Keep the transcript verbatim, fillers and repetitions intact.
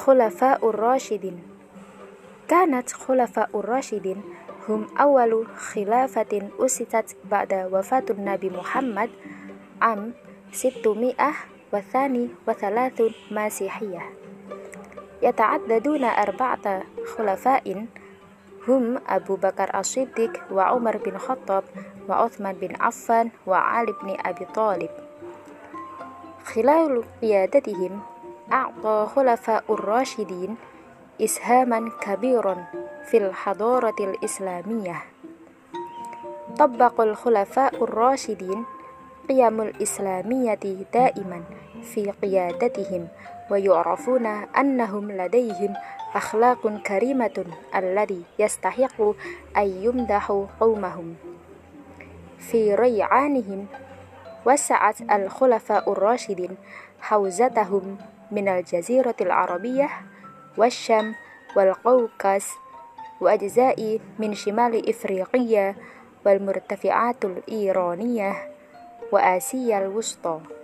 Khulafa'ur Rasyidin. Kanat Khulafa'ur Rasyidin hum awalu khilafatin usitat ba'da wafatun Nabi Muhammad am sittumi'ah wa thani wa thalathun masihiyah. Yata'addaduna arba'ata khulafa'in hum Abu Bakar As-Siddiq wa Umar bin Khattab wa Uthman bin Affan wa Ali bin Abi Thalib. Khilalu qiyadatihim a'ta khulafa'ur rasyidin ishaman kabiran fil hadaratil islamiyah. Tabbaqul khulafa'ur rasyidin qiyamul islamiyati daiman fi qiyadatihim wa yu'rafuna annahum ladayhim akhlaqun karimatun alladhi yastahiqu ayyumdahu qawmahum. Fi ray'anihim wasa'at al-khulafa'ur rasyidin hawzatahum minal jaziratil arabiyyah wasyam wal qawqas wa ajza'i min shimali ifriqiyya wal murtafi'atul iraniyah wa asiyal wusta.